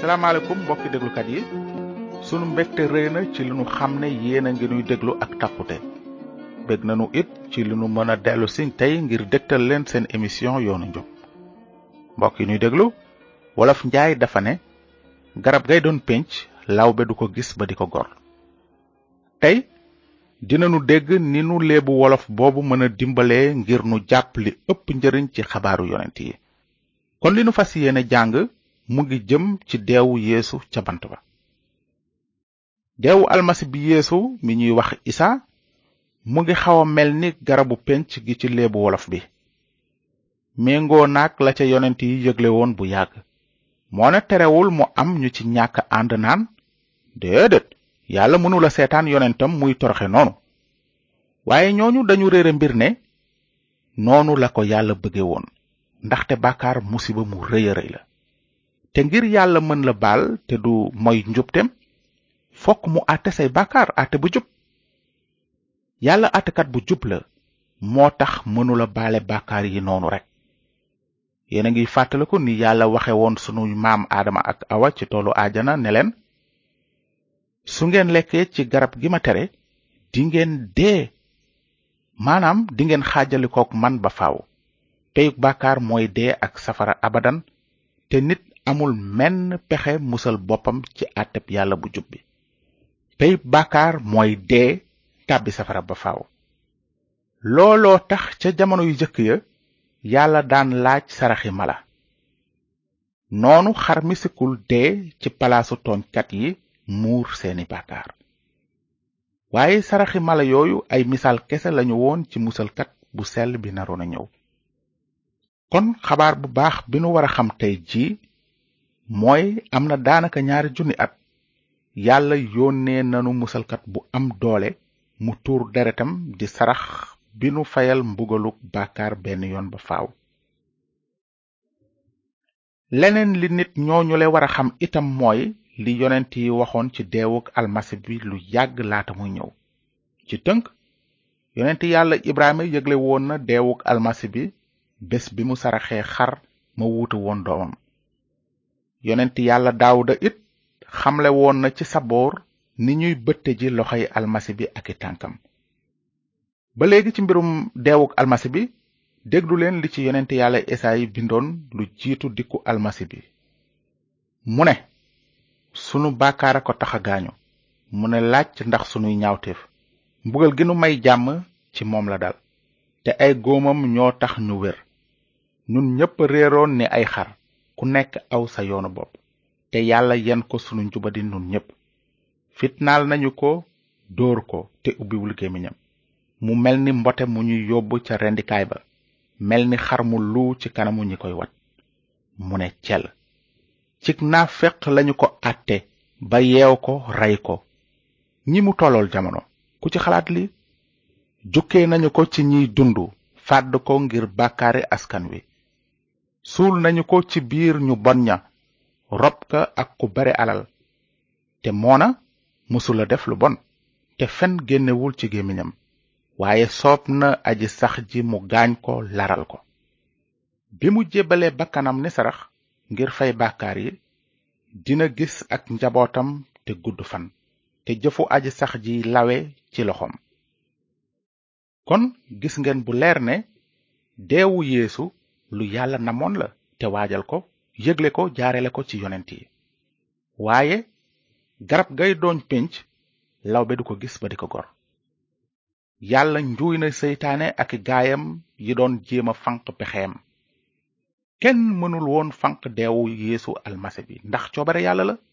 salaamaaleykum mbokki déglukat yi sunu mbégte rëy na ci li nu xam ne yéen a ngi nuy déglu ak takkute bég nanu it ci li nu mën a dellu si tey ngir dégtal leen seen émission yoonu njub mbokk yi nuy déglu wolof njaay dafa ne garab gay doon pénc lawbe du ko gis ba di ko gor tey dinanu dégg ni nu léebu wolof boobu mën a dimbalee ngir nu jàpp li ëpp njëriñ ci xabaaru yonent yi kon li nu fas yéene jàng mu ngi jëm ci deewu yeesu ca bant ba. deewu almasi bi yeesu mi ñuy wax isa mu ngi xaw a mel ni garabu penc gi ci léebu wolof bi méngoo naag la ca yonent yi yëgle woon bu yàgg moo ne terewul mu am ñu ci ñàkk ànd naan déedéet yàlla mënula seetaan yonentam muy toroxe noonu waaye ñooñu dañu réere mbir ne noonu la ko yàlla bëgge woon ndaxte bàkkaar musiba mu rëy a rëy la te ngir yàlla mën la baal te du moy njubtem fokk mu àtte say bàkkaar àtte bu jub yàlla àttekat bu jub la moo tax mënula baale bàkkaar yi noonu rek yéen a ngi fàttaliku ni yàlla waxe woon sunu maam aadama ak awa ci toolu aajana ne leen su ngeen lekkee ci garab gi ma tere dingeen dee maanaam dingeen xaajalikook man ba faaw peyug bàkkaar mooy dee ak safara abadan te nit amul menn pexe musal boppam ci àtteb yàlla bu jub bi peyug bàkkaar mooy dee tàbbi safara ba faaw looloo tax ca jamono yu jëkk ya yàlla daan laaj saraxi mala noonu xar mi sikkul dee ci palaasu tooñkat yi muur seeni bàkkaar waaye saraxi mala yooyu ay misaal kese lañu woon ci musalkat bu sell bi naroon a ñëw kon xabaar bu baax bi nu war a xam tey jii mooy am na daanaka 2,000 at yàlla yónnee nanu musalkat bu am doole mu tuur deretam di sarax bi nu fayal mbugaluk bàkkaar benn yoon ba faaw. leneen li nit ñooñu le war a xam itam mooy li yonent yi waxoon ci deewuk almasi bi lu yàgg laata muy ñëw ci tënk yonent yàlla Ibrahima yëgle woon na deewuk almasi bi bés bi mu saraxee xar ma wuutu woon doomam yonent yàlla Daawuda it xamle woon na ci saboor ni ñuy bëtte ji loxoy almasi bi ak i tànkam ba léegi ci mbirum deewuk almasi bi déglu leen li ci yonent yàlla Esaayi bindoon lu jiitu dikku almasi bi mu ne sunu bàkkaar a ko tax a gaañu mu ne laaj ndax sunuy ñaawteef mbugal gi nu may jàmm ci moom la dal te ay góomam ñoo tax ñu wér ñun ñépp réeroon ni ay xar ku nekk aw sa yoonu bopp te yàlla yen ko sunu njubadi nun ñépp fitnaal nañu ko dóor ko te ubbiwul gémmiñam mu mel ni mbote mu ñuy yóbbu ca rendikaay ba mel ni xar mu luu ci kanamu ñi koy wat mu ne cel cig naaféq lañu ko àtte ba yeew ko rey ko ñi mu tollool jamono ku ci xalaat li jukkee nañu ko ci ñiy dundu fàdd ko ngir bàkkaari askan wi suul nañu ko ci biir ñu bon ña rob ka ak ku bare alal te moona musula def lu bon te fen génnewul ci gémmiñam waaye soob na aji sax ji mu gaañ ko laral ko bi mu jébbalee bakkanam ni sarax ngir fay bàkkaar yi dina gis ak njabootam te gudd fan te jëfu aji sax ji lawe ci loxoom kon gis ngeen bu leer ne deewu yeesu lu yàlla namoon la te waajal ko yëgle ko jaarele ko ci yonent yi waaye garab gay doon pénc lawbe du ko gis ba di ko gor yàlla njuuy na seytaane ak gaayam yi doon jéema fanq pexeem kenn mënul woon fanq deewu yeesu almasi bi ndax coobare yàlla la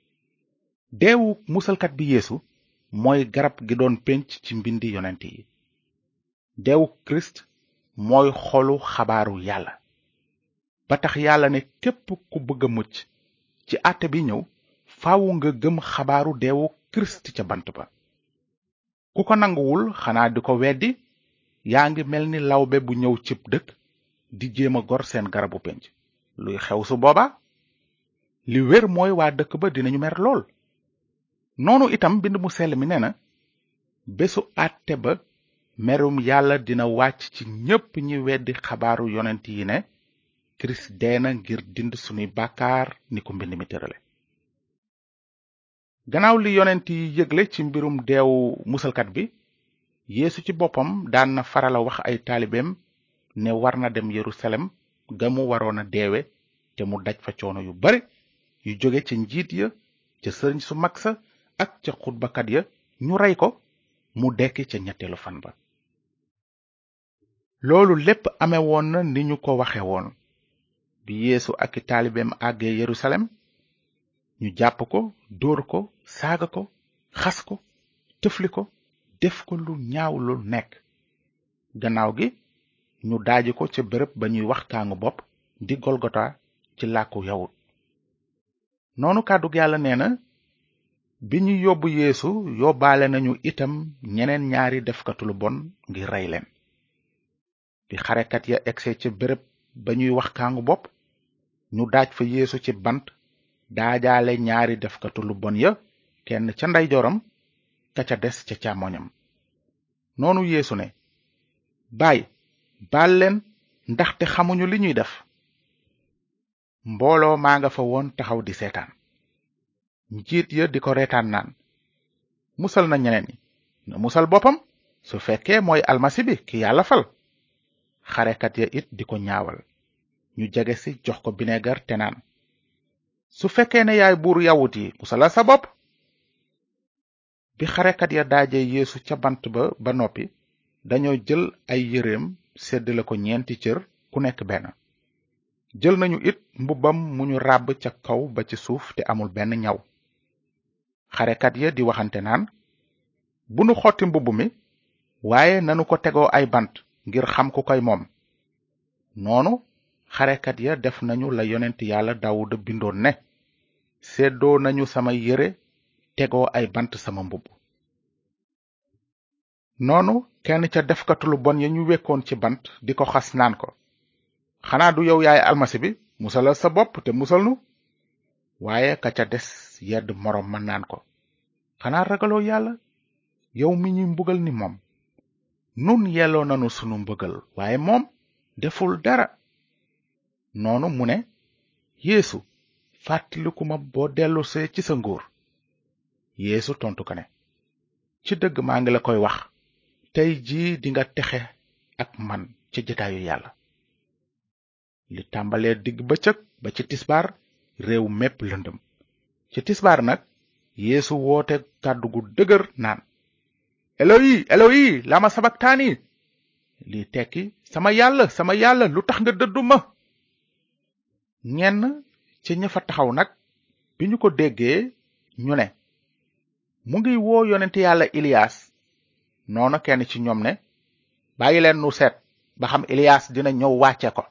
deewu musalkat bi yeesu mooy garab gi doon pénc ci mbindi yonent yi deewu kirist mooy xolu xabaaru yàlla ba tax yàlla ne képp ku bëgg a mucc ci àtte bi ñëw faawu nga gëm xabaaru deewu kirist ca bant ba ku ko nanguwul xanaa di ko weddi yaa ngi mel ni lawbe bu ñëw cib dëkk di jéem a gor seen garabu penc luy xew su booba li wér mooy waa dëkk ba dinañu mer lool noonu itam mbind mu sell mi nee na bésu àtte ba merum yàlla dina wàcc ci ñépp ñi weddi xabaaru yonent yi ne kirist dee na ngir dind sunuy bàkkaar ni ko mbind mi tërale gannaaw li yonent yi yëgle ci mbirum deewu musalkat bi, Yeesu ci boppam daan na farala wax ay taalibeem ne war na dem Yerusalem ga mu waroon a deewe te mu daj fa coono yu bare yu jóge ca njiit ya, ca sëriñ su mag sa ak ca xutbakat ya, ñu rey ko mu dekki ca ñetteelu fan ba. loolu lépp ame woon na ni ñu ko waxe woon. bi Yeesu ak i taalibeem àggee Yerusalem, ñu jàpp ko, dóor ko, saaga ko, xas ko, tëfli ko, def ko lu ñaaw lu nekk. gannaaw gi ñu daaji ko ca bërëb ba ñuy wax kaangu bopp di Golgota ci làkku yawut. noonu kàddug yàlla nee na, bi ñu yóbbu Yeesu yóbbaale nañu itam ñeneen ñaari defkatu lu bon ngir rey leen. bi xarekat ya egse ca bërëb ba ñuy wax kaangu bopp, ñu daaj fa Yeesu ci bant, daajaale ñaari defkatu lu bon ya, kenn ca ndeyjooram ka ca des ca càmmoñam. noonu Yeesu ne, baay, baal leen, ndaxte xamuñu li ñuy def. mbooloo maa nga fa woon taxaw di seetaan. njiit ya di ko reetaan naan, musal na ñeneen ñi, na musal boppam su fekkee mooy almasi bi ki yàlla fal. xarekat ya it di ko ñaawal. ñu jege si jox ko binegar te naan, su fekkee ne yaay buuru yawut yi, musalal sa bopp. bi xarekat ya daaje Yeesu ca bant ba noppi, dañoo jël ay yëreem séddale ko ñeenti cër, ku nekk benn. jël nañu it mbubbam mu ñu ràbb ca kaw ba ci suuf te amul benn ñaw. xarekat ya di waxante naan, bu nu xotti mbubb mi, waaye nanu ko tegoo ay bant ngir xam ku koy moom. noonu xarekat ya def nañu la yonent yàlla Daawuda bindoon ne, séddoo nañu sama yére, tegoo ay bant sama mbubb. noonu kenn ca defkatu lu bon ya ñu wekkoon ci bant di ko xas naan ko, xanaa du yow yaay almasi bi, musalal sa bopp te musal nu. waaye ka ca des yedd moroom ma naan ko, xanaa ragaloo yàlla, yow mi ñuy mbugal ni moom. nun yelloo nanu sunu mbugal, waaye moom deful dara. noonu mu ne, Yeesu, fàttaliku ma boo dellusee ci sa nguur. Yeesu tontu ko ne, ci dëgg maa ngi la koy wax, tey jii dinga texe ak man ca jataayu yàlla. li tàmbalee digg bëccëg ba ci tisbaar, réew mépp lëndëm. ci tisbaar nag, Yeesu woote kàddu gu dëgër naan, Eloyi, Eloyi, lama sabaktaani. li tekki, sama yàlla, lu tax nga dëddu ma. ñenn ci ña fa taxaw nag, bi ñu ko déggee, ñu ne, mu ngi woo yonent yàlla Iliyaas. noonu kenn ci ñoom ne, bàyyi leen nu seet ba xam Iliyaas dina ñëw wàcce ko.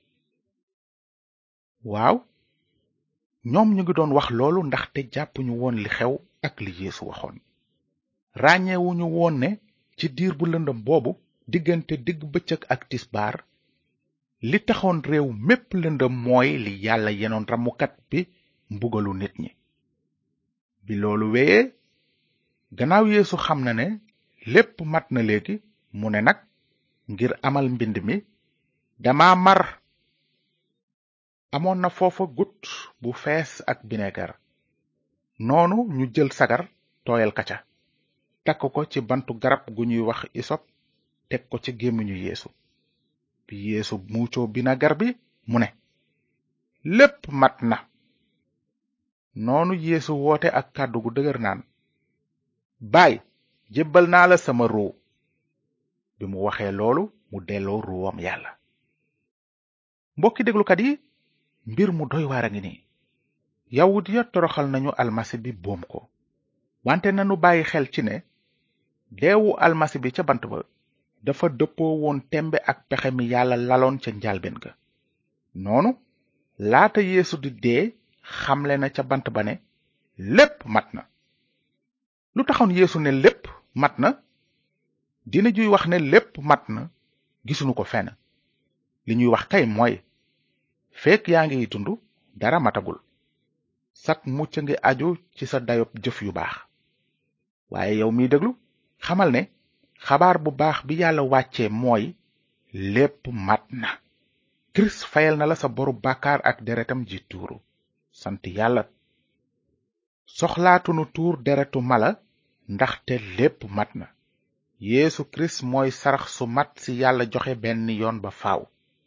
waaw, ñoom ñu ngi doon wax loolu ndaxte jàppuñu woon li xew ak li Yeesu waxoon. ràññeewuñu woon ne ci diir bu lëndëm boobu, diggante digg bëccëg ak tisbaar, li taxoon réew mépp lëndëm mooy li yàlla yenoon ramukat bi mbugalu nit ñi. bi loolu wéyee, gannaaw Yeesu xam na ne lépp mat na léegi, mu ne nag, ngir amal mbind mi, dama mar. amoon na foofa gut bu fees ak binegar. noonu ñu jël sagar tooyal kaca, takk ko ci bantu garab gu ñuy wax isop, teg ko ci gémmiñu Yeesu. bi Yeesu muucoo binegar bi, mu ne, lépp mat na. noonu Yeesu woote ak kàddu gu dëgër naan, baay, jébbal naa la sama ruu. bi mu waxee loolu, mu delloo ruwam yàlla. mbokki déglukat yi, mbir mu doy waar a ngi nii. yawut ya toroxal nañu almasi bi boom ko, wante nanu bàyyi xel ci ne deewu almasi bi ca bant ba dafa dëppoo woon tembe ak pexe mi yàlla laloon ca njalbeen ga. noonu laata Yeesu di dee, xamle na ca bant ba ne lépp mat na. lu taxoon Yeesu ne lépp mat na? dina juy wax ne lépp mat na gisuñu ko fenn. li ñuy wax kay mooy, fekk yaa ngi dund, dara matagul. sak mucc ngi aju ci sa dayob jëf yu baax. waaye yow miy déglu, xamal ne xabaar bu baax bi yàlla wàccee mooy, lépp mat na. Kirist fayal na la sa boru bàkkaar ak deretam ji tuuru. sant yàlla. soxlaatunu tuur deretu mala ndaxte lépp mat na. Yeesu Kirist mooy sarax su mat si yàlla joxe benn yoon ba faaw.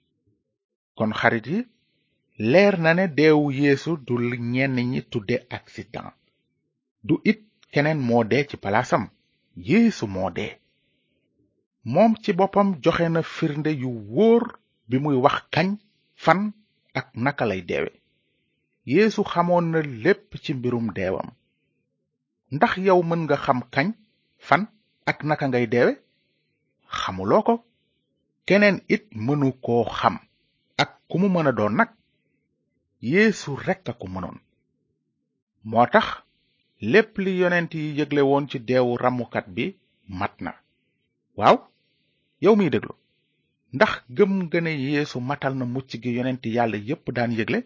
kon xarit yi, leer na ne deewu Yeesu du li ñenn ñi tudde accident. du it keneen moo dee ci palaasam. Yeesu moo dee. moom ci boppam joxe na firnde yu wóor bi muy wax kañ, fan ak naka lay deewe. Yeesu xamoon na lépp ci mbirum deewam. ndax yow mën nga xam kañ, fan ak naka ngay deewe? xamuloo ko. keneen it mënu koo xam, ak ku mu mën a doon nag. Yeesu rekk a ko mënoon. moo tax lépp li yonent yi yëgle woon ci deewu ramukat bi mat na. waaw, yow miy déglu, ndax gëm nga ne Yeesu matal na mucc gi yonent yàlla yépp daan yëgle?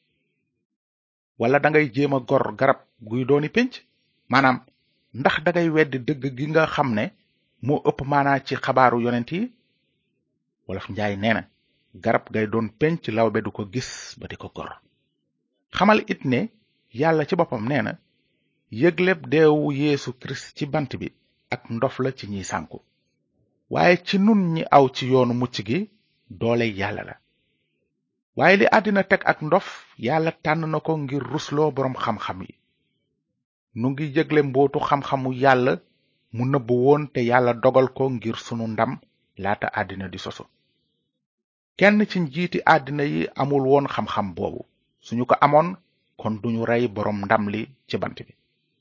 wala dangay jéem a gor garab guy dooni pénc? maanaam ndax dangay weddi dëgg gi nga xam ne moo ëpp maanaa ci xabaaru yonent yi? wolof njaay nee na, garab gay doon pénc lawbe du ko gis ba di ko gor. xamal it ne yàlla ci boppam nee na, yëgleb deewu Yeesu Kirist ci bant bi ak ndof la ci ñiy sànku, waaye ci nun ñi aw ci yoonu mucc gi doole yàlla la. waaye li àddina teg ak ndof, yàlla tànn na ko ngir rusloo boroom xam-xam yi. nu ngi yëgle mbootu xam-xamu yàlla mu nëbb woon te yàlla dogal ko ngir sunu ndam laata àddina di sosu. kenn ci njiiti àddina yi amul woon xam-xam boobu. suñu ko amoon, kon duñu rey boroom ndam li ci bant bi.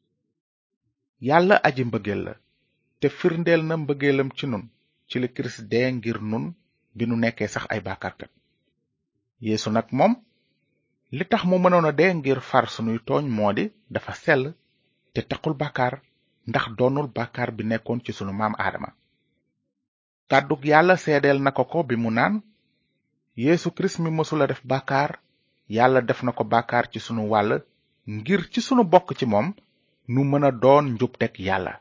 yàlla aji mbëggeel la, te firndeel na mbëggeelam ci nun ci li Kirist dee ngir nun bi nu nekkee sax ay bàkkaarkat. Yeesu nag moom li tax mu mënoon a dee ngir far sunuy tooñ moo di dafa sell te taqul bàkkaar, ndax doonul bàkkaar bi nekkoon ci sunu maam Aadama. kàddug yàlla seedeel na ko bi mu naan, Yeesu Kirist mi mësula def bàkkaar, yàlla def na ko bàkkaar ci sunu wàll ngir ci sunu bokk ci moom nu mën a doon njubteg yàlla.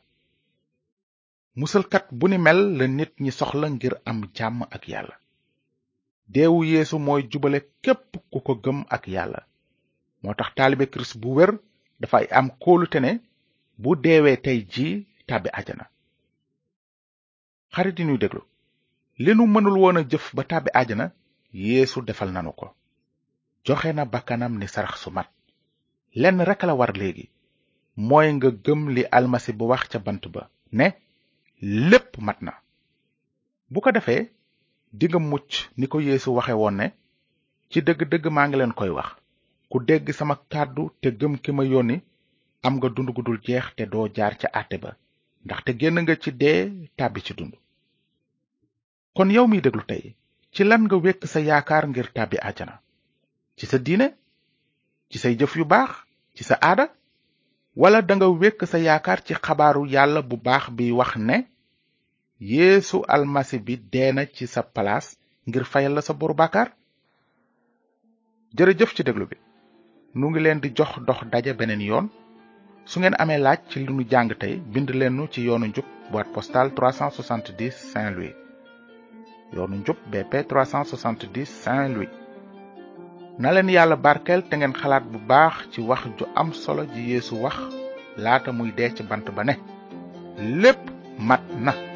musalkat bu ni mel la nit ñi soxla ngir am jàmm ak yàlla. deewu Yeesu mooy jubale képp ku ko gëm ak yàlla. moo tax taalibe Kirist bu wér dafay am kóolute ne bu deewee tey jii tàbbi àjjana. xarit yi ñuy déglu, li nu mënul woon a jëf ba tàbbi àjjana, Yeesu defal nanu ko. joxe na bakkanam ni sarax su mat. lenn rekk la war léegi, mooy nga gëm li almasi bu wax ca bant ba ne lépp mat na. bu ko defee dinga mucc ni ko Yeesu waxe woon ne, ci dëgg-dëgg maa ngi leen koy wax, ku dégg sama kàddu te gëm ki ma yónni am nga dund gu dul jeex te doo jaar ca àtte ba, ndaxte génn nga ci dee tàbbi ci dund. kon yow miy déglu tey, ci lan nga wekk sa yaakaar ngir tàbbi àjjana? ci sa diine? ci say jëf yu baax? ci sa aada? wala danga wekk sa yaakaar ci xabaaru yàlla bu baax bi wax ne Yeesu almasi bi dee na ci sa palaas ngir fayal la sa boru bàkkaar? jërëjëf ci déglu bi. nu ngi leen di jox dox daje beneen yoon. su ngeen amee laaj ci li nu jàng tey, bind leen nu ci yoonu njub, boîte postale 370 Saint-Louis. yoonu njub BP 370 Saint-Louis. na leen yàlla barkeel te ngeen xalaat bu baax ci wax ju am solo ji Yeesu wax laata muy dee ci bant ba ne lépp mat na.